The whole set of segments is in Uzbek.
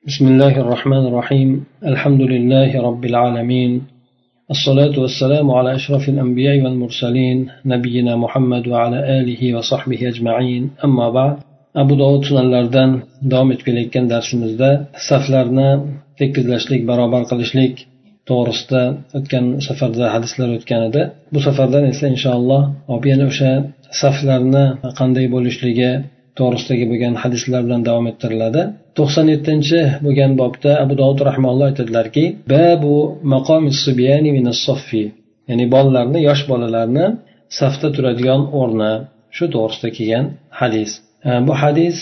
بسم الله الرحمن الرحيم الحمد لله رب العالمين الصلاة والسلام على أشرف الأنبياء والمرسلين نبينا محمد وعلى آله وصحبه أجمعين أما بعد أبو داود sunanlardan davom etib kelayotgan darsimizda saflarni tekizlashlik barobar qilishlik to'g'risida o'tgan safarda hadislar o'tgan edi. Bu safardan esa inshaalloh yana o'sha saflarni qanday bo'lishligi to'g'risidagi bo'lgan hadislar bilan davom ettiriladi. 97 bo'lgan bobda Abu Dovud rahimahulloh aytadilarki, babu maqomis subyani minas saffi, ya'ni bolalarni, yosh bolalarni safda turadigan o'rni, shu to'g'risida kelgan hadis. Bu hadis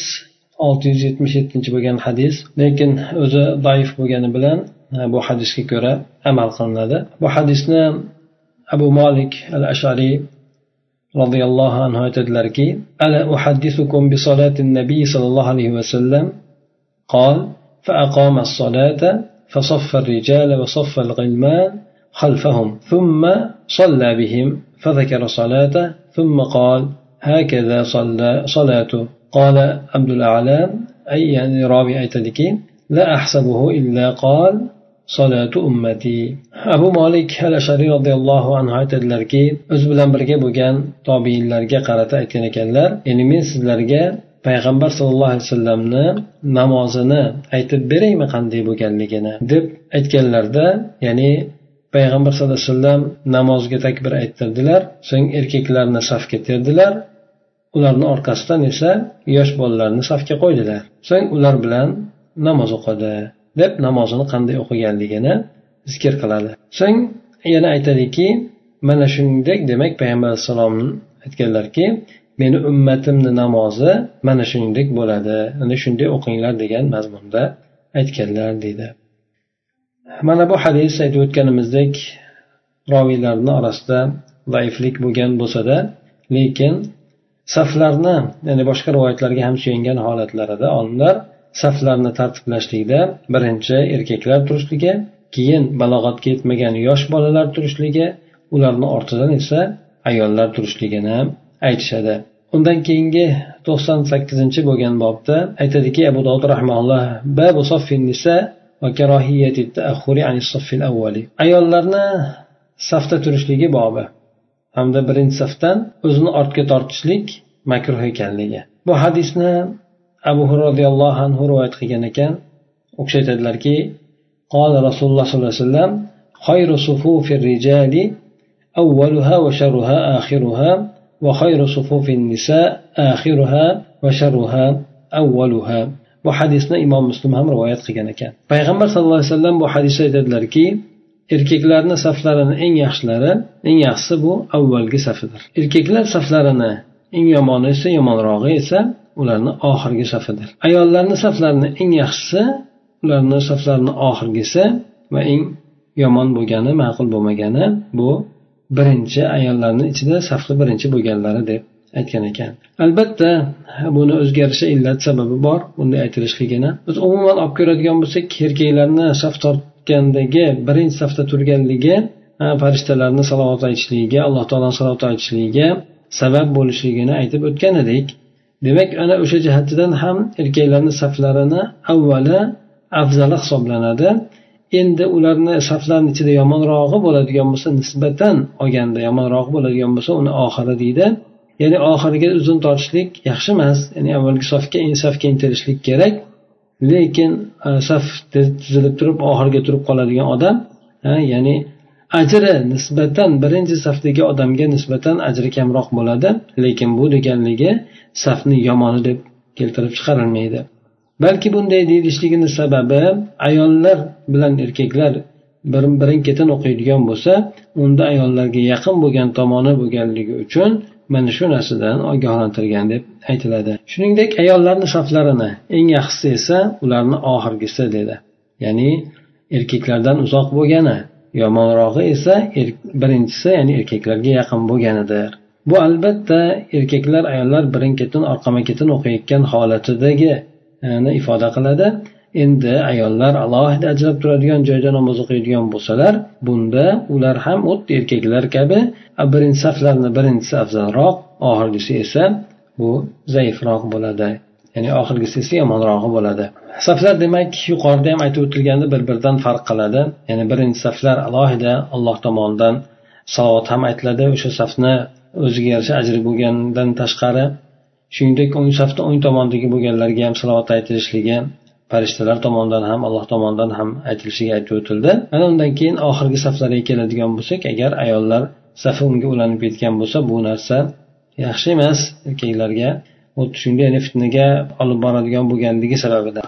677 bo'lgan hadis, lekin o'zi zaif bo'lgani bilan bu hadisga ko'ra amal qilinadi. Bu hadisni Abu Malik al-Ash'ari radhiyallohu anhu aytadilarki, ala uhaddithukum bi salatin nabiy sallallohu alayhi va sallam قال فأقام الصلاة فصف الرجال وصف الغلمان خلفهم ثم صلى بهم فذكر صلاته ثم قال هكذا صلاته. قال عبد الأعلى أي يعني راوي أيتدكي لا أحسبه إلا قال صلاة أمتي. أبو مالك الأشعري رضي الله عنه aytadilarki, o'z bilan birga bo'lgan tobiinlarga qarata aytgan ekanlar, ya'ni men sizlarga payg'ambar sallallohu alayhi vasallamni namozini aytib beraymi qanday bo'lganligini deb aytganlarda, ya'ni payg'ambar sallallohu alayhi vasallam namozga takbir ayttirdilar, so'ng erkaklarni safga terdilar, ularni orqasidan esa yosh bolalarni safga qo'ydilar, so'ng ular bilan namoz o'qidi deb namozini qanday o'qiganligini zikr qiladi. So'ng yana aytadiki, mana shuningdek, demak payg'ambar alayhisalom aytganlarki, meni ummatimni namozi mana shuningdek bo'ladi, ana shunday o'qinglar degan mazmunda aytganlar deydi. Mana bu hadis aytib o'tganimizdek roviylarning orasida zaiflik bo'lgan bo'lsa-da, lekin saflarni, ya'ni boshqa rivoyatlarga ham suyangan holatlarida olimlar saflarni tartiblashlikda birinchi erkaklar turishligi, keyin balog'atga yetmagan yosh bolalar turishligi, ularning ortidan esa ayollar turishligini aytishadi. Undan keyingi 98 bo'lgan bobda aytadiki, Abu Dovud rahimahulloh babu saffin nisa va karohiyati ta'akhuri anis saffil avvali, ayollarni safda turishligi bobi hamda birinchi safdan o'zini ortga tortishlik makruh ekanligi. Bu hadisni Abu Hurayra radhiyallohu anhu rivoyat qilgan ekan, o'xshatadilarki, qala Rasululloh sollallohu alayhi vasallam khayru sufufir rijali awwaluha va sharruha akhiruha va khayru sufufin nisa akhiruha va sharruha awwaluha. Bu hadisni Imom Muslim ham rivoyat qilgan ekan. Payg'ambar sallallohu alayhi vasallam bu hadisda aytadilarki, erkaklarning saflarini eng yaxshisi bu avvalgi safidir. Erkaklar saflarini eng yomoni esa, yomonrog'i esa ularning oxirgi safidir. Ayollarning saflarini eng yaxshisi ularning saflarining oxirgisi va eng yomon bo'lgani, ma'qul bo'lmagani bu birinchi, ayollarning ichida safli birinchi bo'lganlari deb aytgan ekan. Albatta buni o'zgarishi illat sababi bor bunday aytilishligini. Biz umuman olib ko'radigan bo'lsak, erkaklarni saf tortgandagi birinchi safda turganligi farishtalarning salovat aytishligiga, Alloh taoloning salovat aytishligiga sabab bo'lishligini aytib o'tgan edik. Demak, ana o'sha jihatdan ham erkaklarning saflarini avvali afzali hisoblanadi. Endi ularni saflarning ichida yomonrog'i bo'ladigan bo'lsa, nisbatan olganda yomonroq bo'ladigan bo'lsa, uni oxiri deydi. Ya'ni oxiriga uzun tortishlik yaxshi emas. Ya'ni avvalgi safga intilishlik kerak. Lekin saf tizilib turib oxiriga turib qoladigan odam, ya'ni ajri nisbatan birinchi safdagi odamga nisbatan ajri kamroq bo'ladi. Lekin bu deganligi safni yomoni deb keltirib chiqarilmaydi. Balki bunday deyilishligining sababi, ayollar bilan erkaklar birin-ketin o'qiydigan bo'lsa, unda ayollarga yaqin bo'lgan tomoni bo'lganligi uchun mana shu narsadan ogohlantirgan deb aytiladi. Shuningdek, ayollarning saflarini eng yaxshisi esa ularning oxirgisi dedi. Ya'ni erkaklardan uzoq bo'lgani, yomonrog'i esa birinchisi, ya'ni erkaklarga yaqin bo'lganidir. Bu albatta erkaklar ayollar birin-ketin orqama-ketin o'qiyotgan holatidagi ifoda qiladi. Endi ayollar alohida ajrab turadigan joyda namoz o'qiydigan bo'lsalar, bunda ular ham xuddi erkaklar kabi birinchi saflarni birinchisi afzalroq, oxirgisi esa bu zaifroq bo'ladi. ya'ni oxirgisi esa yomonrog'i bo'ladi. Saflar demak yuqorida ham aytib o'tilganda bir-biridan farq qiladi. Ya'ni birinchi saflar alohida Alloh tomonidan salovat ham aytiladi, o'sha safni o'ziga yarasha ajri bo'lgandan tashqari, shuningdek o'ng safda o'ng tomondagi bo'lganlarga ham salovat aytilishligi farishtalar tomonidan ham Alloh tomonidan ham aytilishiga aytib o'tildi. Mana undan keyin oxirgi saflarga keladigan bo'lsak, agar ayollar safi unga ulanib ketgan bo'lsa, bu narsa yaxshi emas erkaklarga. Xuddi shunday, ya'ni fitnaga olib boradigan bo'lganligi sababidan.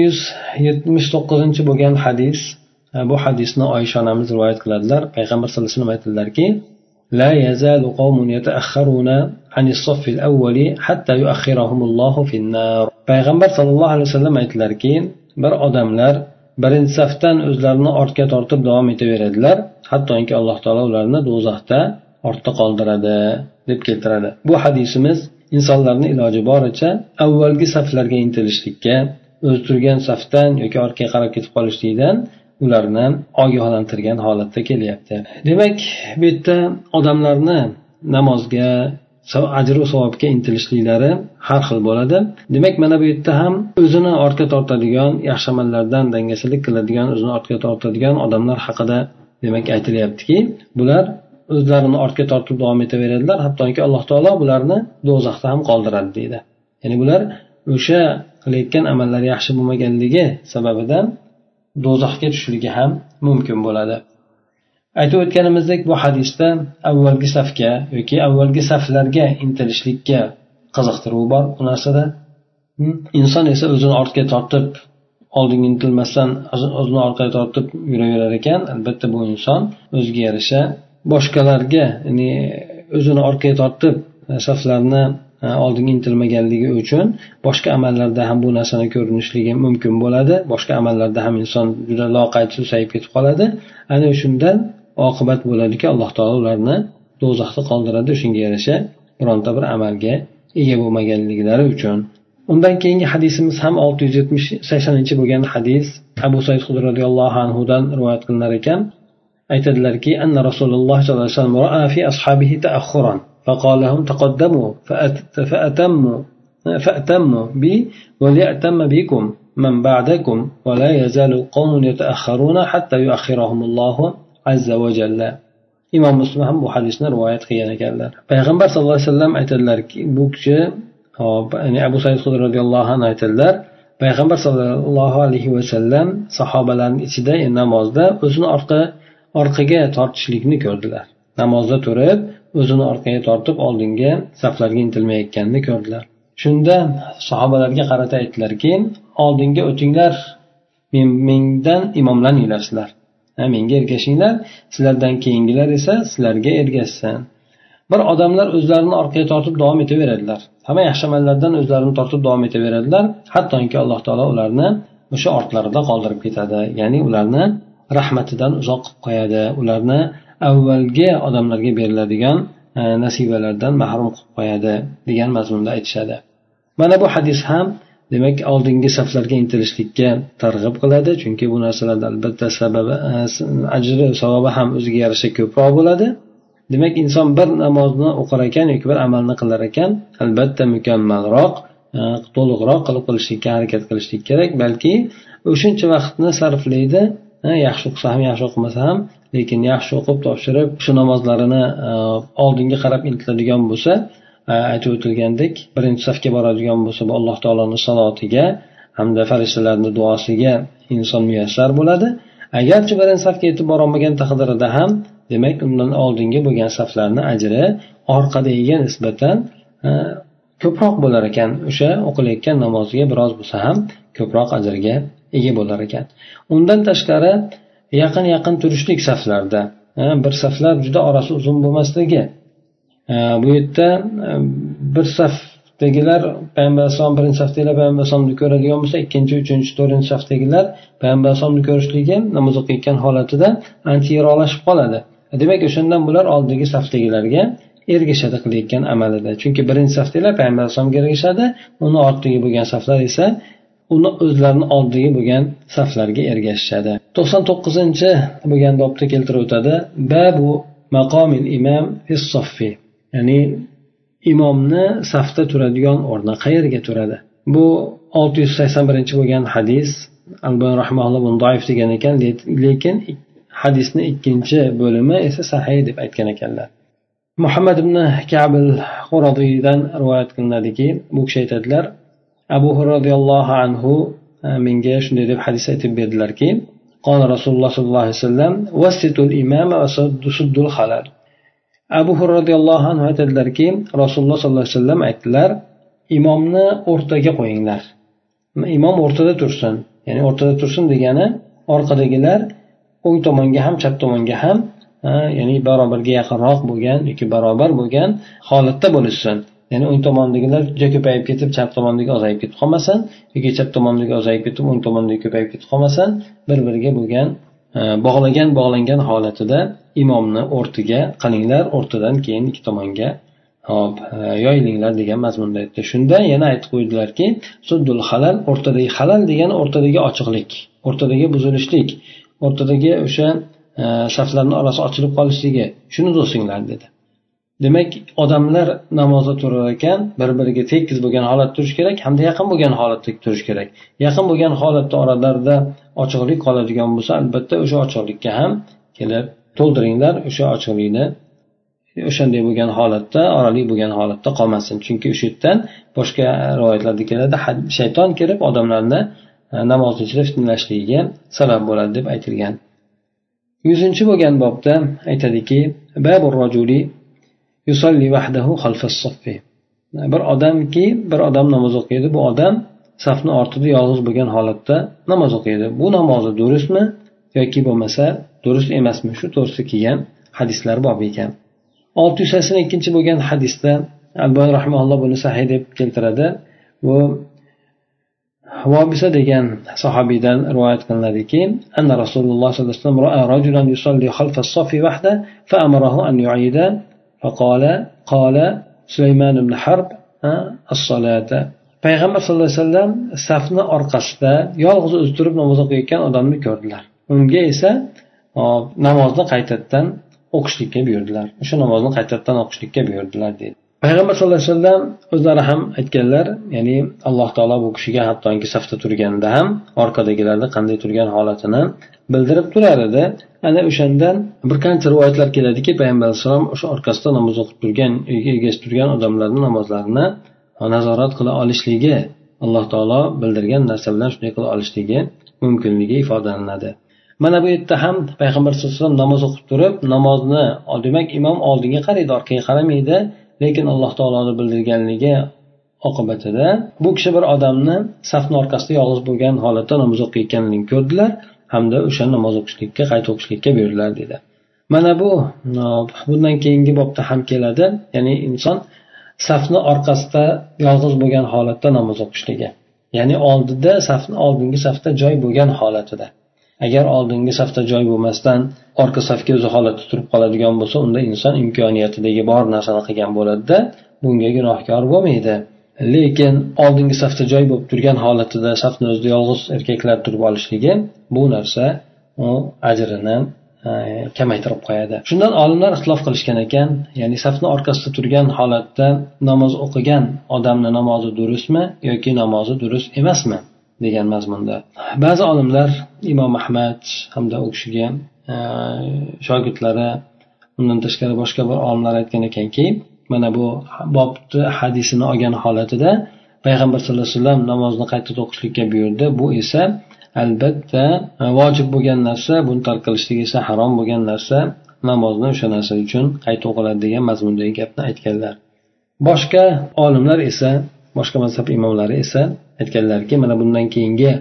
679 bo'lgan hadis. Bu hadisni Oysha onamiz rivoyat qiladilar. Payg'ambar sollallohu alayhi vasallam aytdilarki: "La yazalu qawmun yata'akhkharuna anis saffil awwali hatta yu'akhkhirahumullohu fin-nar." Payg'ambar sollallohu alayhi vasallam aytdilarki, bir odamlar birinchi safdan o'zlarini ortga tortib davom etaveradilar, hattoki Alloh taolo ularni do'zaxda ortda qoldiradi deb keltiradi. Bu hadisimiz insonlarning iloji boricha avvalgi saflarga intilishlikka, o'z turgan safdan yoki orqaga qarab ketib qolishlikdan ularni ogohlantirgan holatda kelyapti. Demak, bu yerda odamlarni namozga, ajr va savobga intilishliklari har xil bo'ladi. Demak, mana bu yerda ham o'zini ortga tortadigan, yaxshi amallardan dangasalik qiladigan, o'zini ortga tortadigan odamlar haqida demak aytilyaptiki, bular o'zlarini ortga tortib davom etaveradilar, hattoki Alloh taolo bularni do'zaxda ham qoldiradi deydi. Ya'ni bular o'sha qilayotgan amallari yaxshi bo'lmaganligi sababidan do'zaxga tushishligi ham mumkin bo'ladi. Aytib o'tganimizdek, bu hadisda avvalgi safga yoki avvalgi saflarga intilishlikka qiziqtiruv bor bu narsada. Inson esa o'zini ortga tortib, oldinga intilmasdan o'zini orqaga tortib yuraverar ekan, albatta bu inson o'ziga yarasha boshqalarga, ya'ni o'zini orqaga tortib saflarni oldinga intilmaganligi uchun boshqa amallarda ham bu narsani ko'rinishligi mumkin bo'ladi. Boshqa amallarda ham inson juda loqayd susayib ketib qoladi. Ana shundan oqibat bo'ladiki, Alloh taolo ularni do'zaxda qoldiradi, shunga yarasha bironta bir amalga ega bo'lmaganliklari uchun. Undan keyingi hadisimiz ham 680 bo'lgan hadis. Abu Said Xudri radhiyallohu anhu dan rivoyat qilinar ekan, aytadilarki, anna Rasululloh sollallohu alayhi vasallam ra'a fi ashabihi ta'akhkhuran فقال لهم تقدموا فأتموا بي وليأتم بكم من بعدكم ولا يزال قوم يتأخرون حتى يؤخرهم الله عز وجل. Imom Muslim ham bu hadisni rivoyat qilgan ekanlar. Payg'ambar sollallohu alayhi vasallam aytadilarki, bu kishi, ya'ni Abu Said Xudri radhiyallohu anhu aytadilar, Payg'ambar sollallohu alayhi vasallam sahobalarning ichida namozda o'zini orqaga tortishlikni ko'rdilar. Namozda turib o'zini orqaga tortib oldinga saflarga intilmayotganini ko'rdilar. Shunda sahobalarga qarata aytdilarki, oldinga o'tinglar, mendan imomlaninglar sizlar. Menga ergashinglar, sizlardan keyingilar esa sizlarga ergashsin. Bir odamlar o'zlarini orqaga tortib davom etaveradilar. Hamma yaxshi amallardan o'zlarini tortib davom etaveradilar, hattoki Alloh taolo ularni o'sha ortlarida qoldirib ketadi. Ya'ni ularni rahmatidan uzoq qilib qo'yadi. Ularni avvalgi odamlarga beriladigan nasibalardan mahrum qilib qo'yadi degan mazmunda aytishadi. Mana bu hadis ham demak oldingi saflarga intilishlikka targ'ib qiladi, chunki bu narsalarda albatta sababi, ajri, savobi ham o'ziga yarasha ko'proq bo'ladi. Demak, inson bir namozni o'qir ekan yoki bir amalni qilar ekan, albatta mukammalroq, to'liqroq qilib qilishlikka harakat qilishlik kerak, balki o'shuncha vaqtni sarflaydi. Yaxshi o'qisa ham, yaxshi o'qimasa ham, lekin yaxshi o'qib topshirib shu namozlarini oldinga qarab intiladigan bo'lsa, aytib o'tilgandek, birinchi safga boradigan bo'lsa, bu Alloh taoloning salotiga hamda farishtalarning duosiga inson muyassar bo'ladi. Agarchi birinchi safga yetib borolmagan taqdirida ham, demak, undan oldingi bo'lgan saflarning ajri orqadagiga nisbatan ko'proq bo'lar ekan. O'sha o'qilayotgan namoziga biroz bo'lsa ham ko'proq ajrga ega bo'lar ekan. Undan tashqari yaqin turishlik saflarda, bir saflar juda orasi uzun bo'lmasligi. Bu yerda bir safdagilar Payg'ambar sollallohu birinchi safdagilar Payg'ambar sollallohu ko'radigan bo'lsa, ikkinchi, uchinchi, to'rtinchi safdagilar Payg'ambar sollallohu ko'rishligi namoz o'qiyotgan holatida ancha yiroqlashib qoladi. Demak, o'shandan bular oldingi safdagilarga ergashadi qilayotgan amalida. Chunki birinchi safdagilar Payg'ambar sollallohu ergashadi, uni ortiga bo'lgan saflar esa uni o'zlarini oldiga bo'lgan saflarga ergashishadi. 99 bo'lgan bobda keltirib o'tadi. Babu maqomil imam fis-saffi. Ya'ni imomni safda turadigan o'rni qayerga turadi? bu 681 bo'lgan hadis. Albani rahimahulloh buni doif degan ekan, lekin hadisning ikkinchi bo'limi esa sahih deb aytgan ekanlar. Muhammad ibn Ka'b al-Quradiydan rivoyat qilinadiki, bu kishi aytadilar, Abu Hurayra radhiyallohu anhu menga shunday deb hadis aytib berdilarki, qala Rasululloh sollallohu alayhi vasallam wasitul imama va suddul khalal. Abu Hurayra radhiyallohu anhu aytadilarki, Rasululloh sollallohu alayhi vasallam aytdilar, imomni o'rtaga qo'yinglar. Imom o'rtada tursin. Ya'ni o'rtada tursin degani orqadagilar o'ng tomonga ham chap tomonga ham ya'ni barobarga yaqinroq bo'lgan yoki barobar bo'lgan holatda bo'lishsin. Ya'ni o'ng tomondagilar juda ko'payib ketib chap tomondagi ozayib ketib qolmasin yoki chap tomondagi ozayib ketib o'ng tomondagi ko'payib ketib qolmasin. Bir-biriga bo'lgan bog'langan holatida imomni o'rtaga qilinglar, o'rtadan keyin ikki tomonga yoyilinglar degan mazmunda aytdi. Shunda yana aytib qo'ydilarki, suddul halal, o'rtadagi halal degani o'rtadagi ochiqlik, o'rtadagi buzilishlik, o'rtadagi o'sha saflarning orasi ochilib qolishligi, shuni to'singlar dedi. Demak, odamlar namozda turar ekan, bir-biriga tekis bo'lgan holatda turish kerak, hamda yaqin bo'lgan holatda turish kerak. Yaqin bo'lgan holatda oralarida ochiqlik qoladigan bo'lsa, albatta o'sha ochiqlikka ham kelib to'ldiringlar, o'sha ochiqlikni o'shanday bo'lgan holatda, oraliq bo'lgan holatda qolmasin. Chunki o'sha yerdan boshqa rivoyatlarda keladi, shayton kirib odamlarni namozni ichida fitnalashligiga sabab bo'ladi deb aytilgan. 100 bo'lgan bobda aytadiki, babur rajuli yusalli wahdahu khalfas saffi. Bir odam namoz o'qiydi, bu odam safning ortida yolg'iz bo'lgan holatda namoz o'qiydi. Bu namozi durustmi yoki bo'lmasa durust emasmi? Shu to'g'risida kelgan hadislar bor ekan. 682 bo'lgan hadisda Albani rahimahulloh buni sahih deb keltiradi. Bu Vobisa degan sahobiydan rivoyat qilinadiki, anna Rasululloh sollallohu alayhi vasallam ra'a rajulan yusalli khalfa as-saffi wahda fa amarahu an yu'ida fa qala Sulayman ibn Harb as-salata. Payg'ambar sollallohu alayhi vasallam safning orqasida yolg'iz o'zi turib namoz o'qiyotgan odamni ko'rdilar. Unga esa namozni qaytadan o'qishlikka buyurdilar. O'sha namozni qaytadan o'qishlikka buyurdilar dedi. Payg'ambar sollallohu alayhi vasallam o'zlari ham aytganlar, ya'ni Alloh taolo bu kishiga hattoki safda turganda ham orqadagilarda qanday turgan holatini bildirib turar edi. Ana o'shandan bir qancha rivoyatlar keladiki, Payg'ambar sollallohu alayhi vasallam o'sha orqasida namoz o'qib turgan, egasiz turgan odamlarning namozlarini nazorat qila olishligi, Alloh taolo bildirgan narsa bilan shunday qila olishligi mumkinligi ifodalanadi. Mana bu yerda ham Payg'ambar sollallohu alayhi vasallam namoz o'qib turib, namozni, demak imom oldinga qaraydi, orqaga qaramaydi. Lekin Alloh taoloning bildirganligi oqibatida bu kishi bir odamni safning orqasida yolg'iz bo'lgan holatda namoz o'qiyotganligini ko'rdilar hamda o'sha namoz o'qishlikka, qayta o'qishlikka buyurdilar dedi. Mana bu bundan keyingi bobda ham keladi, ya'ni inson safning orqasida yolg'iz bo'lgan holatda namoz o'qishligi. Ya'ni oldida oldingi safda joy bo'lgan holatida. Agar oldingi safda joy bo'lmasdan orqa safga o'zi holatda turib qoladigan bo'lsa, unda inson imkoniyatidagi bor narsani qilgan bo'ladi-da, bunga gunohkor bo'lmaydi. Lekin oldingi safda joy bo'lib turgan holatida safni o'zida yolg'iz erkaklar turib olishligi bu narsa u ajrini kamaytirib qo'yadi. Shundan olimlar ixtilof qilishgan ekan, ya'ni safni orqasida turgan holatda namoz o'qigan odamni namozi durustmi yoki namozi durust emasmi degan mazmunda. Ba'zi olimlar Imom Ahmad hamda u kishiga shogirdlari, undan tashqari boshqa bir olimlar aytgan ekanki, mana bu bobni hadisini olgan holatida Payg'ambar sollallohu alayhi vasallam namozni qayta o'qishlikka buyurdi. Bu esa albatta vojib bo'lgan narsa, buni tark qilishlik esa harom bo'lgan narsa, namozni o'sha narsa uchun qayta o'qiladi degan mazmundagi gapni aytganlar. Boshqa olimlar esa, boshqa mazhab imomlari esa aytganlarki, mana bundan keyingi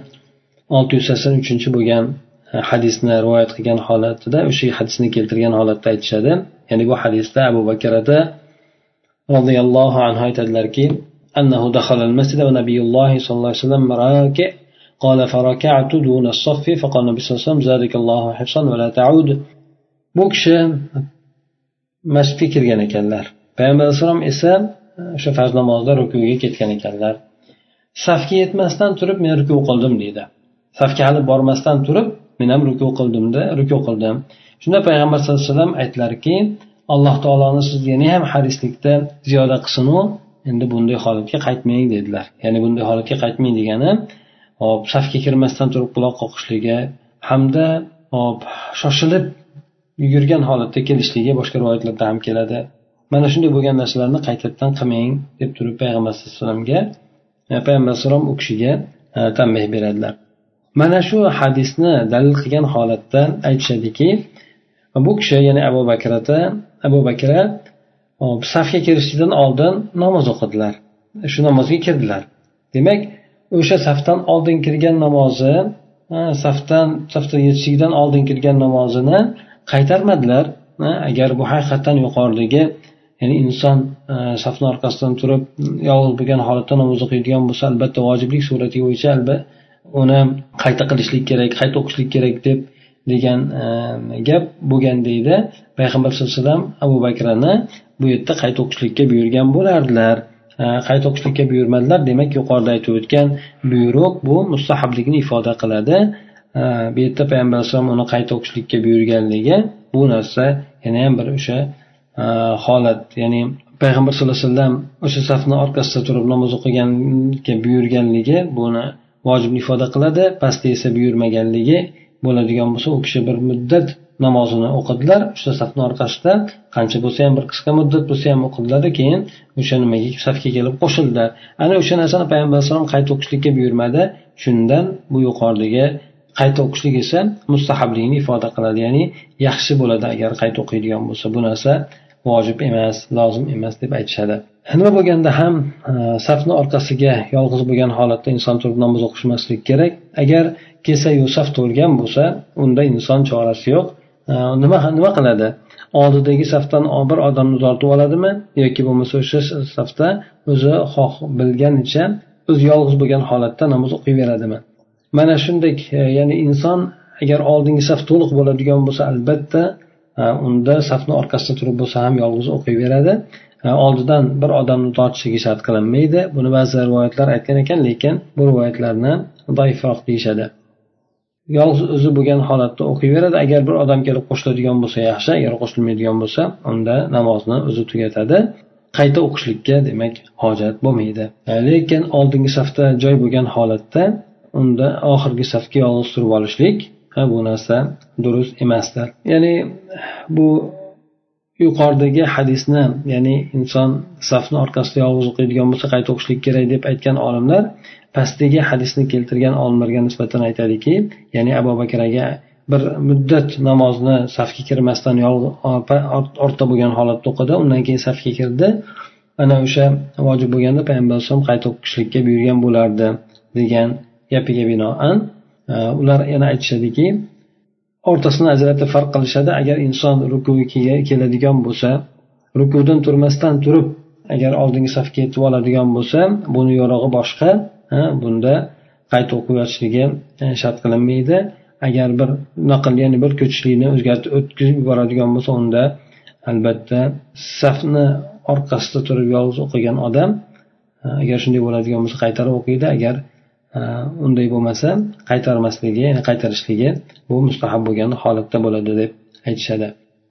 683 bo'lgan hadisni rivoyat qilgan holatida, o'sha hadisni keltirgan holatda aytishadi. Ya'ni bu hadisda Abu Bakrada radhiyallohu anhu aytadilarki, annahu dakhala al-masjid va nabiyulloh sollallohu alayhi vasallam raki qala faraka'tu duna as-saff faqala nabiy sollallohu alayhi vasallam zalikallohu hifsan va la ta'ud. Bu kishi masjidga kirgan ekanlar. Payg'ambar sollallohu alayhi vasallam esa o'sha farz namozda rukuga ketgan ekanlar. Safga yetmasdan turib men ruku qildim deydi. Safga hali bormasdan turib men ham ruku qildim. Shunda Payg'ambar sollallohu alayhi vasallam aytdilarki, Alloh taoloni siz yana ham harislikda ziyoda qilsin-u endi bunday holatga qaytmang dedilar. Ya'ni bunday holatga qaytmang degani hop safga kirmasdan turib quloq qoqishligi hamda hop shoshilib yugurgan holatda kelishligi boshqa rivoyatlarda ham keladi. Mana shunday bo'lgan narsalarni qaytadan qilmang deb turib payg'ambar sollallohu alayhi vasallamga payg'ambar alayhisalom u kishiga tanbeh beradilar. Mana shu hadisni dalil qilgan holatda aytishadiki, bu kishi ya'ni Abu Bakr safga kirishdan oldin namoz o'qidilar. Shu namozga kirdilar. Demak, o'sha safdan oldin kirgan namozi, safda yetishlikdan oldin kirgan namozini qaytarmadilar. Agar bu haqiqatan yuqoridagi, ya'ni inson safning orqasidan turib yolg'iz bo'lgan holatda namoz o'qiydigan bo'lsa, albatta vojiblik surati bo'yicha albatta uni qayta qilishlik kerak, qayta o'qishlik kerak degan gap bo'lgan deydi. Payg'ambar sollallohu alayhi vasallam Abu Bakrni bu yerda qayta o'qishlikka buyurgan bo'lardilar. Qayta o'qishlikka buyurmadilar. Demak, yuqorida aytib o'tgan buyruq bu mustahablikni ifoda qiladi. Bu yerda payg'ambar alayhisalom uni qayta o'qishlikka buyurganligi bu narsa yana ham bir o'sha holat, ya'ni payg'ambar sollallohu alayhi vasallam o'sha safning orqasida turib namoz o'qiganga buyurganligi buni vojibni ifoda qiladi. Pastda esa buyurmaganligi bo'ladigan bo'lsa, u kishi bir muddat namozini o'qidilar. O'sha safning orqasida qancha bo'lsa ham bir qisqa muddat bo'lsa ham o'qidilar, keyin o'sha nimaga safga kelib qo'shildilar. Ana o'sha narsani payg'ambar alayhisalom qayta o'qishlikka buyurmadi. Shundan bu yuqoridagi qayta o'qishlik esa mustahablikni ifoda qiladi, ya'ni yaxshi bo'ladi agar qayta o'qiydigan bo'lsa. Bu narsa vojib emas, lozim emas deb aytishadi. Nima bo'lganda ham safning orqasiga yolg'iz bo'lgan holatda inson turib namoz o'qishmaslik kerak. Agar kelsa-yu saf to'lgan bo'lsa, unda inson chorasi yo'q. Nima qiladi? Oldidagi safdan bir odamni uzatib oladimi yoki bo'lmasa o'sha safda o'zi xoh bilganicha o'zi yolg'iz bo'lgan holatda namoz o'qiyveradimi? Mana shunday, ya'ni inson agar oldingi saf to'liq bo'ladigan bo'lsa, albatta unda safning orqasida turib bo'lsa ham yolg'iz o'qiyveradi. Oldidan bir odamni tortishiga shart qilinmaydi. Buni ba'zi rivoyatlar aytgan ekan, lekin bu rivoyatlarni zaifroq deyishadi. Yolg'iz o'zi bo'lgan holatda o'qiyveradi. Agar bir odam kelib qo'shiladigan bo'lsa yaxshi, agar qo'shilmaydigan bo'lsa, unda namozni o'zi tugatadi. Qayta o'qishlikka demak hojat bo'lmaydi. Lekin oldingi safda joy bo'lgan holatda unda oxirgi safga yolg'iz turib olishlik bu narsa durust emasdir. Ya'ni bu yuqoridagi hadisni, ya'ni inson safni orqasida yolg'iz o'qiydigan bo'lsa qayta o'qishlik kerak deb aytgan olimlar pastdagi hadisni keltirgan olimlarga nisbatan aytadiki, ya'ni Abu Bakraga bir muddat namozni safga kirmasdan ortda bo'lgan holatda o'qidi, undan keyin safga kirdi. Ana o'sha vojib bo'lganda payg'ambar sollallohu alayhi vasallam qayta o'qishlikka buyurgan bo'lardi degan gapiga binoan ular yana aytishadiki, o'rtasini ajratib farq qilishadi. Agar inson rukuga keladigan bo'lsa, rukudan turmasdan turib agar oldingi safga yetib oladigan bo'lsa, buni yo'rog'i boshqa. Bunda qayta o'qib yotishligi shart qilinmaydi. Agar bir naql, ya'ni bir ko'chishlikni o'tkazib yuboradigan bo'lsa, unda albatta safni orqasida turib yolg'iz o'qigan odam agar shunday bo'ladigan bo'lsa qaytarib o'qiydi. Agar unday bo'lmasa qaytarmasligi, ya'ni qaytarishligi bu mustahab bo'lgan holatda bo'ladi deb aytishadi.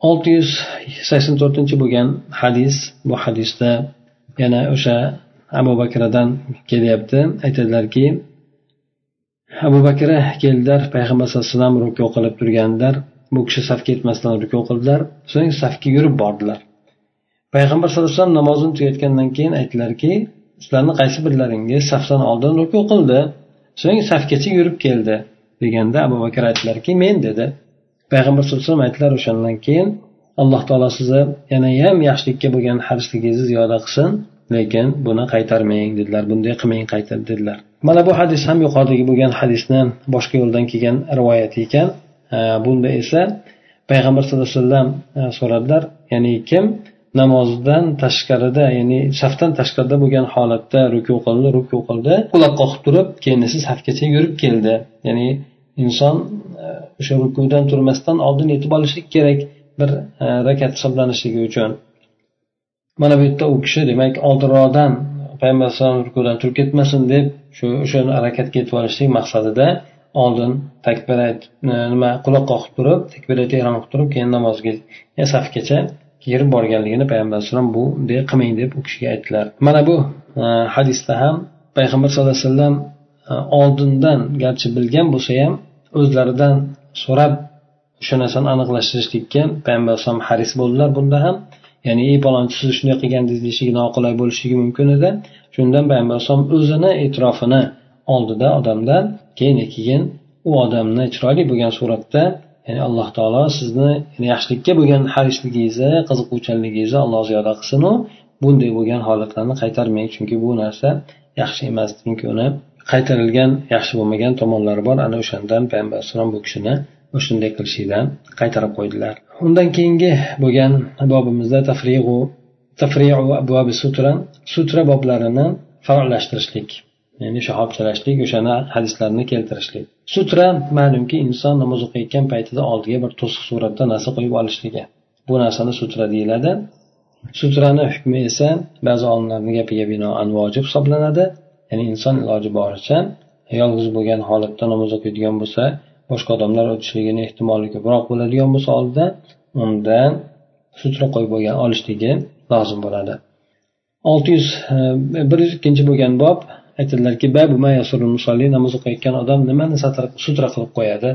684 bo'lgan hadis, bu hadisda yana o'sha Abu Bakrdan kelyapti. Aytadilarki, Abu Bakr keldilar, payg'ambar sollallohu alayhi vasallam ruku qilib turganlar. Bu kishi safga yetmasdan ruku qildilar, so'ng safga yurib bordilar. Payg'ambar sollallohu alayhi vasallam namozini tugatgandan keyin aytdilarki, sizlarning qaysi birlaringiz safdan oldin ruku qildi, so'ng safgacha yurib keldi deganda Abu Bakr aytdilarki, men dedi. Payg'ambar sollallohu alayhi vasallam aytdilar, o'shandan keyin Alloh taolo sizni yana ham yaxshilikka bo'lgan harisligingizni ziyoda qilsin, lekin buni qaytarmang dedilar, bunday qilmang, qaytar dedilar. Mana bu hadis ham yuqoridagi bo'lgan hadisni boshqa yo'ldan kelgan rivoyat ekan. Bunda esa payg'ambar sollallohu alayhi vasallam so'radilar, ya'ni kim namozdan tashqarida, ya'ni safdan tashqarida bo'lgan holatda ruku qildi, quloq qoqib turib, keyin esa safgacha yurib keldi. Ya'ni inson o'sha rukudan turmasdan oldin yetib olishlik kerak bir rakat hisoblanishligi uchun. Mana bu yerda u kishi demak oldinroqdan payg'ambar sollallohu alayhi vasallam rukudan turib ketmasin deb o'sha harakatga yetib olishlik maqsadida oldin takbirat quloq qoqib turib, takbirat ihrom qilib turib, keyin namozga safgacha kirib borganligini payg'ambar alayhisalom bunday qilmang deb u kishiga aytdilar. Mana bu hadisda ham payg'ambar sallallohu alayhi vasallam oldindan garchi bilgan bo'lsa ham o'zlaridan so'rab o'sha narsani aniqlashtirishlikka payg'ambar alayhisalom haris bo'ldilar. Bunda ham ya'ni ey palonchi siz shunday qilgandingiz deyishligi noqulay bo'lishligi mumkin edi. Shundan payg'ambar alayhisalom o'zini e'tirofini oldida odamdan keyin u odamni chiroyli bo'lgan suratda, ya'ni alloh taolo sizni yaxshilikka bo'lgan harisligingizni, qiziquvchanligingizni Alloh ziyoda qilsin, u bunday bo'lgan holatlarni qaytarmang, chunki bu narsa yaxshi emas, chunki uni qaytarilgan yaxshi bo'lmagan tomonlari bor. Ana o'shandan payg'ambar alayhisalom bu kishini shunday qilishidan qaytarib qo'ydilar. Undan keyingi bo'lgan bobimizda tafri'u abwabi sutra boblarini farqlashtirishlik, ya'ni shahobchalashlik, o'shani hadislarni keltirishlik. Sutra ma'lumki inson namoz o'qiyotgan paytida oldiga bir to'siq suratda narsa qo'yib olishligi. Bu narsani sutra deyiladi. Sutrani hukmi esa ba'zi olimlarning gapiga binoan vojib hisoblanadi. Ya'ni inson iloji boricha yolg'iz bo'lgan holatda namoz o'qiydigan bo'lsa, boshqa odamlar o'tishligining ehtimoli ko'proq bo'ladigan bo'lsa oldida undan sutra qo'yib bo'lgan olishligi lozim bo'ladi. 102 bo'lgan bob aytadilarki, namoz o'qiyotgan odam nimani sutra qilib qo'yadi.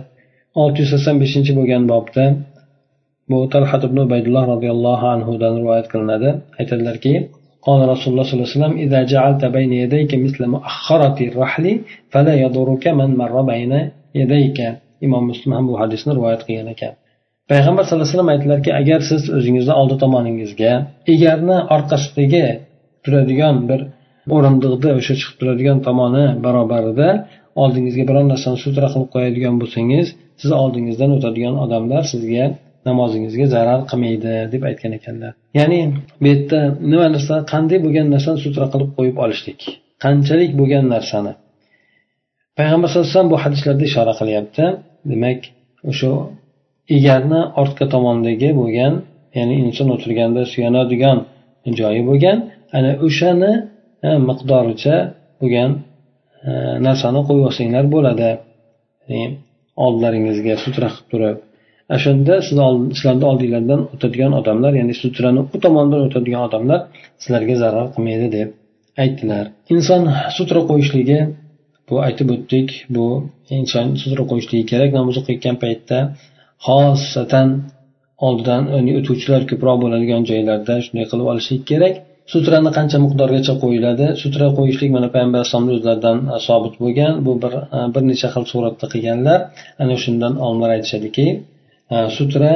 685 bo'lgan bobda bu Talhat ibn Ubaydulloh radhiyallohu anhudan rivoyat qilinadi. Aytadilarki, قال رسول الله صلى الله عليه وسلم إذا جعلت بين يديك مثل مؤخرة الرحل فلا يضرك من مر بين يديك. Imom Muslim ham bu hadisni rivoyat qilgan ekan. Payg'ambar sallallohu alayhi vasallam aytdilarki, agar siz o'zingizni oldi tomoningizga egarni orqasidagi turadigan bir o'rindiqda o'sha chiqib turadigan tomoni barobarida oldingizga biron narsani sutra qilib qo'yadigan bo'lsangiz, siz oldingizdan o'tadigan odamlar sizga namozingizga zarar qilmaydi deb aytgan ekanlar. Ya'ni bu yerda nima narsa, qanday bo'lgan narsani sutra qilib qo'yib olishlik, qanchalik bo'lgan narsani payg'ambar sallallohu alayhi vasallam bu hadislarda ishora qilyapti. Demak, o'sha egarni ortqa tomondagi bo'lgan, ya'ni inson o'tirganda suyanadigan joyi bo'lgan, ana o'shani miqdoricha bo'lgan narsani qo'yib olsanglar bo'ladi. Oldlaringizga sutra qilib turib, shunda sizlarning oldinglardan o'tadigan odamlar, ya'ni sutrani u tomondan o'tadigan odamlar sizlarga zarar qilmaydi deb aytdilar. Inson sutra qo'yishligi, bu aytib o'tdik, bu inson sutra qo'yishligi kerak namoz o'qiyotgan paytda, xosatan oldidan o'tuvchilar ko'proq bo'ladigan joylarda shunday qilib olishlik kerak. Sutrani qancha miqdorgacha qo'yiladi? Sutra qo'yishlik mana payg'ambar alayhisolamning o'zlaridan sobit bo'lgan. Bu bir necha xil suratda qilganlar. Ana shundan olimlar aytishadiki, sutra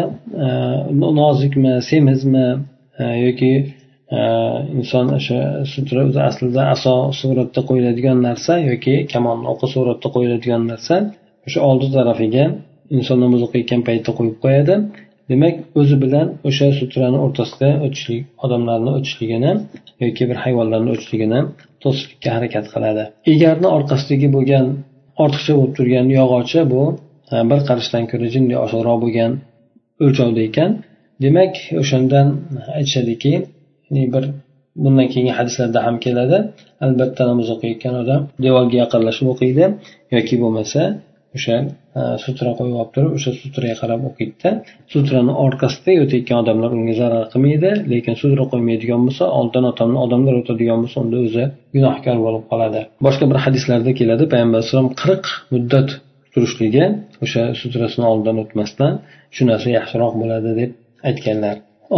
nozikmi, semizmi yoki inson o'sha sutra o'zi aslida aso suratda qo'yiladigan narsa yoki kamon o'qi suratda qo'yiladigan narsa o'sha oldi tarafiga inson namoz o'qiyotgan paytda qo'yib qo'yadi. Demak, o'zi bilan o'sha sutrani o'rtasida o'tishlik, odamlarning o'tishligini yoki bir hayvonlarning o'tishligini to'sishlikka harakat qiladi. Egarni orqasidagi bo'lgan ortiqcha bo'lib turgan yog'ochi bu bir qarashdan ko'ra jinday oshiqroq bo'lgan o'lchovda ekan. Demak, o'shandan aytishadiki, bir bundan keyingi hadislarda ham keladi. Albatta namoz o'qiyotgan odam devorga yaqinlashib o'qiydi yoki bo'lmasa o'sha sutra qo'yib olib turib, o'sha sutraga qarab o'qiydi. Sutrani orqasida o'tayotgan odamlar unga zarar qilmaydi, lekin sutra qo'ymaydigan bo'lsa, oldidan odamlar o'tadigan bo'lsa, unda o'zi gunohkor bo'lib qoladi. Boshqa bir hadislarda keladi, payg'ambar sollallohu alayhi vasallam 40 muddat turishligi, o'sha sutrasini oldidan o'tmasdan shu narsa yaxshiroq bo'ladi deb aytganlar.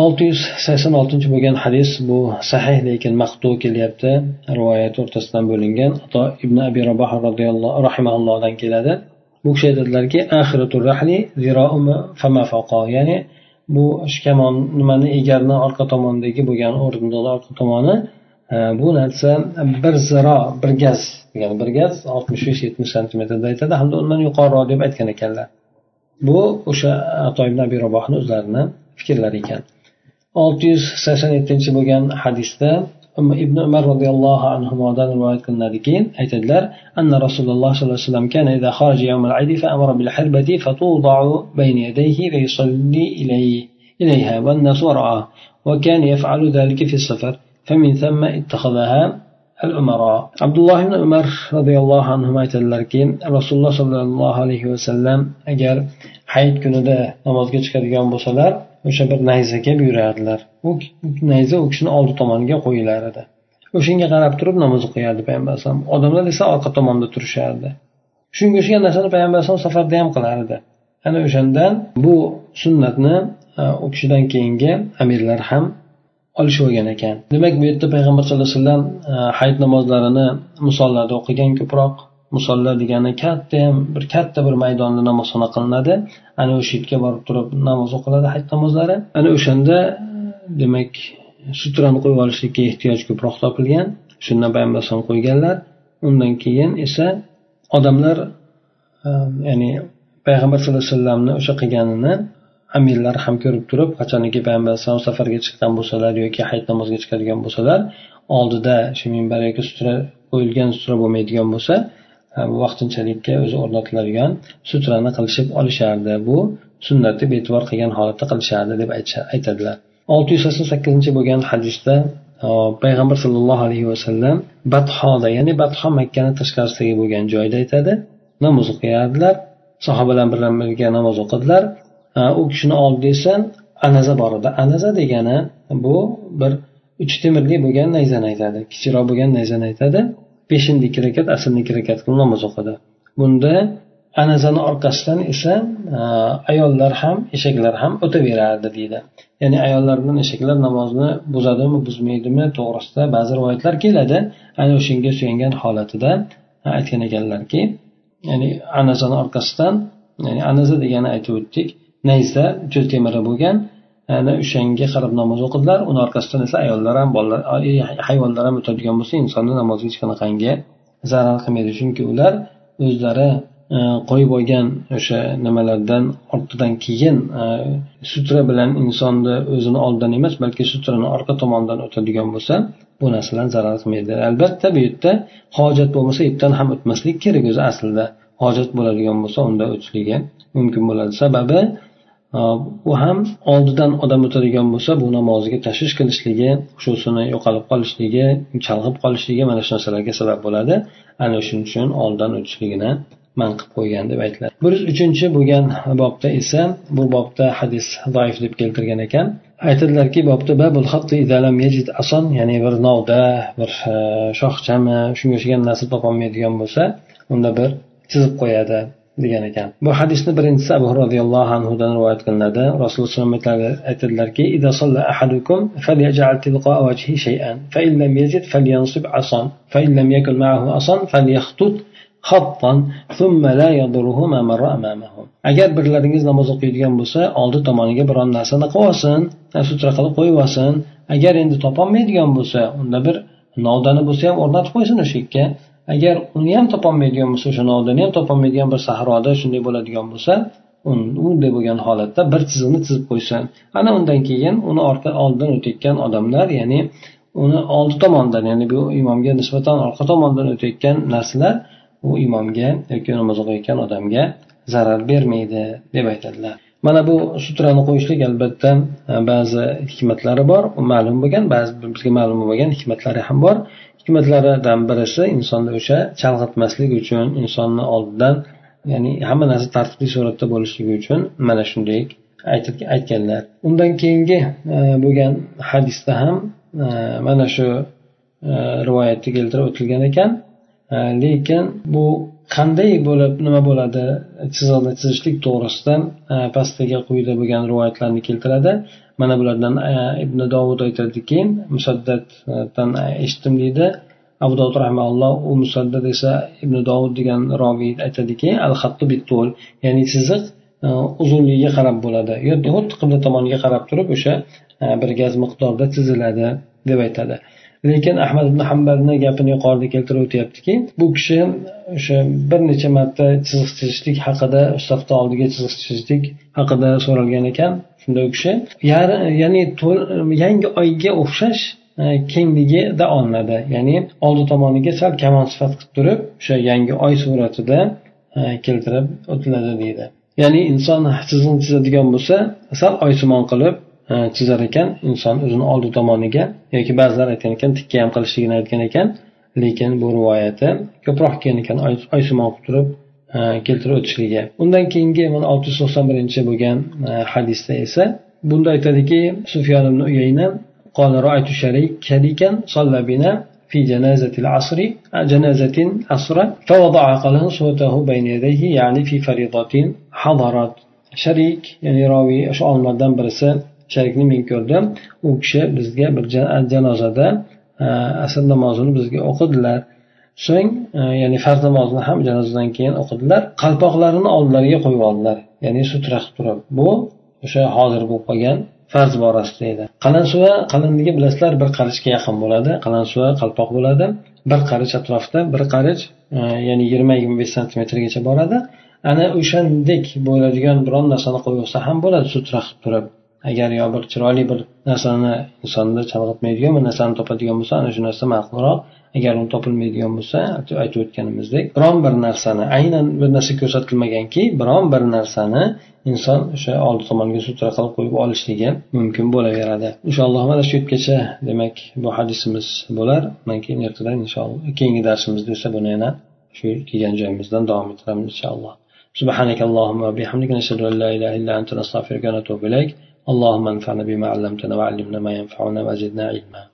686 bo'lgan hadis bu sahih lekin maqtu kelyapti. Rivoyat o'rtasidan bo'lingan. Ato ibn Abi Raboh radhiyallohu rahimahullohdan keladi. Bu kishi aytadilarki, akhiratul rahli ziro'um fama faqa, ya'ni bu kamon nimani egarni orqa tomonidagi bo'lgan o'rindiqlar orqa tomoni, bu narsa bir ziro, bir gaz, ya'ni bir gaz 65-70 cm da aytadi, hamda undan yuqoriroq deb aytgan ekanlar. Bu o'sha Ato ibn Abi Rabohning o'zlarining fikrlari ekan. 687 bo'lgan hadisda ibn Umar radhiyallohu anhudan rivoyat qilinadiki, aytadilar, anna Rasululloh sollallohu alayhi vasallam kana idha kharaja yawm al-eid fa amara bil hirbati fatuda'u bayna yadayhi va yusalli ilayha wan nas wara'a wa kana yaf'alu dhalika fi as-safar famin thumma ittakhadhaha al-umara. Abdulloh ibn Umar radhiyallohu anhu aytadilarki, Rasululloh sollallohu alayhi vasallam agar hayit kunida namozga chiqadigan bo'lsalar, o'sha bir nayzaga buyurardilar. U nayza u kishini oldi tomoniga qo'yilar edi. O'shanga qarab turib namoz o'qiyardi payg'ambar alayhisalom. Odamlar esa orqa tomonda turishardi. Shunga o'xshagan narsani payg'ambar alayhisalom safarda ham qilardi. Ana o'shandan bu sunnatni u kishidan keyingi amirlar ham olishib olgan ekan. Demak, bu yerda payg'ambar sollallohu alayhi vasallam hayit namozlarini misollarda o'qigan. Ko'proq musolla degani katta bir maydonda namozxona qilinadi. Ana o'sha yerga borib turib namoz o'qiladi, hayit namozlari. Ana o'shanda demak sutrani qo'yib olishlikka ehtiyoj ko'proq topilgan. Shundan payg'ambar alayhisalom qo'yganlar. Undan keyin esa odamlar ya'ni payg'ambar sollallohu alayhi vasallamni o'sha qilganini amirlar ham ko'rib turib, qachoniki payg'ambar alayhisalom safarga chiqqan bo'lsalar yoki hayit namoziga chiqadigan bo'lsalar, oldida shu minbar yoki sutra qo'yilgan sutra bo'lmaydigan bo'lsa, vaqtinchalikka o'zi o'rnatiladigan sutrani qilishib olishardi. Bu sunnatni e'tibor qilgan holatda qilishardi deb aytadilar. 688 bo'lgan hadisda payg'ambar sollallohu alayhi vasallam Bathoda, ya'ni Batho Makkani tashqarisidagi bo'lgan joyda aytadi, namoz o'qiyardilar. Sahobalar bilan birga namoz o'qidilar. U kishini oldida esa anaza bor edi. Anaza degani bu bir 3 temirli bo'lgan nayzani aytadi. Kichikroq bo'lgan nayzani aytadi. 5-2 rakat, asrni 2 rakat qilib namoz o'qidi. Bunda anazani orqasidan esa ayollar ham, eshaklar ham o'taverardi deydi. Ya'ni ayollar bilan eshaklar namozni buzadimi, buzmaydimi to'g'risida ba'zi rivoyatlar keladi. Ana o'shanga suyangan holatida aytgan ekanlarki, ya'ni anazani orqasidan, ya'ni anaza degani aytib o'tdik, nayza cho'l temiri bo'lgan, ana o'shanga qarab namoz o'qidilar. Uni orqasidan esa ayollar ham, bolalar, hayvonlar ham o'tadigan bo'lsa, insonni namoziga hech qanaqangi zarar qilmaydi. Chunki ular o'zlari qo'yib olgan o'sha nimalardan ortidan keyin sutra bilan insonni o'zini oldidan emas, balki sutrani orqa tomonidan o'tadigan bo'lsa, bu narsadan zarar qilmaydi. Albatta bu yerda hojat bo'lmasa, ipdan ham o'tmaslik kerak. O'zi aslida hojat bo'ladigan bo'lsa, unda o'tishligi mumkin bo'ladi. Sababi u ham oldidan odam o'tadigan bo'lsa, bu namoziga tashvish qilishligi, xushusini yo'qolib qolishligi, chalg'ib qolishligi mana shu narsalarga sabab bo'ladi. Ana shuning uchun oldidan o'tishligini man qilib qo'ygan deb aytiladi. 103 bo'lgan bobda esa, bu bobda hadis zaif deb keltirgan ekan. Aytadilarki, bobda babul xatti idalam yajid ason, ya'ni bir novda, bir shoxchami, shunga o'xshagan narsa topolmaydigan bo'lsa, unda bir chizib qo'yadi degan ekan. Bu hadisni birinchisi Abu Hurayra radhiyallohu anhudan rivoyat qilinadi. Rasululloh sollallohu alayhi vasallam aytadilarki, "Idza salla ahadukum falyaj'al tilqa wajhi shay'an, fa in lam yajid falyansib asan, fa in lam yakun ma'ahu asan falyakhtut xattan thumma la yadurruhu ma marra amamahu." Agar birlaringiz namoz o'qiydigan bo'lsa, oldi tomoniga biron narsani qo'yib olsin, sutra qilib qo'yib olsin. Agar endi topolmaydigan bo'lsa, unda bir novdani bo'lsa ham o'rnatib qo'ysin o'sha yerga. Agar uni ham topolmaydigan bo'lsa, o'sha novdani ham topolmaydigan bir sahroda shunday bo'ladigan bo'lsa, unday bo'lgan holatda bir chiziqni chizib qo'ysin. Ana undan keyin uni oldidan o'tayotgan odamlar, ya'ni uni oldi tomondan, ya'ni bu imomga nisbatan orqa tomondan o'tayotgan narsalar u imomga yoki namoz o'qiyotgan odamga zarar bermaydi deb aytadilar. Mana bu sutrani qo'yishlik albatta ba'zi hikmatlari bor, ma'lum bo'lgan, ba'zi bizga ma'lum bo'lgan hikmatlari ham bor. Hikmatlaridan birisi insonni o'sha chalg'itmaslik uchun, insonni oldidan, ya'ni hamma narsa tartibli suratda bo'lishligi uchun mana shunday aytganlar. Undan keyingi bo'lgan hadisda ham mana shu rivoyatda keltirib o'tilgan ekan. Lekin bu qanday bo'lib, nima bo'ladi, chiziqni chizishlik to'g'risidan pastdagi quyida bo'lgan rivoyatlarni keltiradi. Mana bulardan Ibn Dovud aytadiki, Musaddaddan eshitdim deydi. Abu Dovud rahimahulloh, u Musaddad esa Ibn Dovud degan roviy aytadiki, al-xattu bit-tul, ya'ni chiziq uzunligiga qarab bo'ladi. Yo'q, xuddi qibla tomoniga qarab turib o'sha bir gaz miqdorda chiziladi deb aytadi. Lekin Ahmad ibn Hanbalning gapini yuqorida keltirib o'tyaptiki, bu kishi o'sha bir necha marta chiziq chizishlik haqida, safda oldiga chiziq chizishlik haqida so'ralgan ekan. Shunda u kishi ya'ni yangi oyga o'xshash kengligida olinadi. Ya'ni oldi tomoniga sal kamon sifat qilib turib, o'sha yangi oy suratida keltirib o'tiladi deydi. Ya'ni inson chiziqni chizadigan bo'lsa, sal oysimon qilib chizar ekan, inson o'zini oldi tomoniga, yoki ba'zilar aytgan ekan tikka ham qilishligini aytgan ekan. Lekin bu rivoyati ko'proq kelgan ekan, oysimon qilib turib keltirib o'tishligi. Undan keyingi 691 bo'lgan hadisda esa bunda aytadiki Sufyon ibn Uyayna قال رأيت شريكا صلى بنا في جنازة العصر جنازة عصرا فوضع قلنسوته بين يديه يعني في فريضة حضرت sharik ya'ni roviy o'sha olimlardan birisi sharikni men ko'rdim u kishi bizga bir janozada asr namozini bizga o'qidilar so'ng ya'ni farz namozini ham janozadan keyin o'qidilar qalpoqlarini oldilariga qo'yib oldilar ya'ni sutra qilib turib bu o'sha hozir bo'lib qolgan farz borasida edi qalansuva qalinligi bilasizlar bir qarichga yaqin bo'ladi qalansuva qalpoq bo'ladi bir qarich atrofida bir qarich ya'ni 20-25 santimetrgacha boradi ana o'shandek bo'ladigan biron narsani qo'yib olsa ham bo'ladi sutra qilib turib agar yo bir chiroyli bir narsani insonni chalg'itmaydigan bir narsani topadigan bo'lsa ana shu narsa ma'qulroq agar uni topilmaydigan bo'lsa aytib o'tganimizdek biron bir narsani aynan bir narsa ko'rsatilmaganki biron bir narsani inson o'sha oldi tomoniga sutra qilib qo'yib olishligi mumkin bo'laveradi inshaalloh mana shu yergacha demak bu hadisimiz bo'lar undan keyin ertadan inshaalloh keyingi darsimizda esa buni yana shu kelgan joyimizdan davom ettiramiz inshaalloh سبحانك اللهم وبحمدك نشهد أن لا إله إلا أنت نستغفرك ونتوب إليك اللهم انفعنا بما علمتنا وعلمنا ما ينفعنا وزدنا علما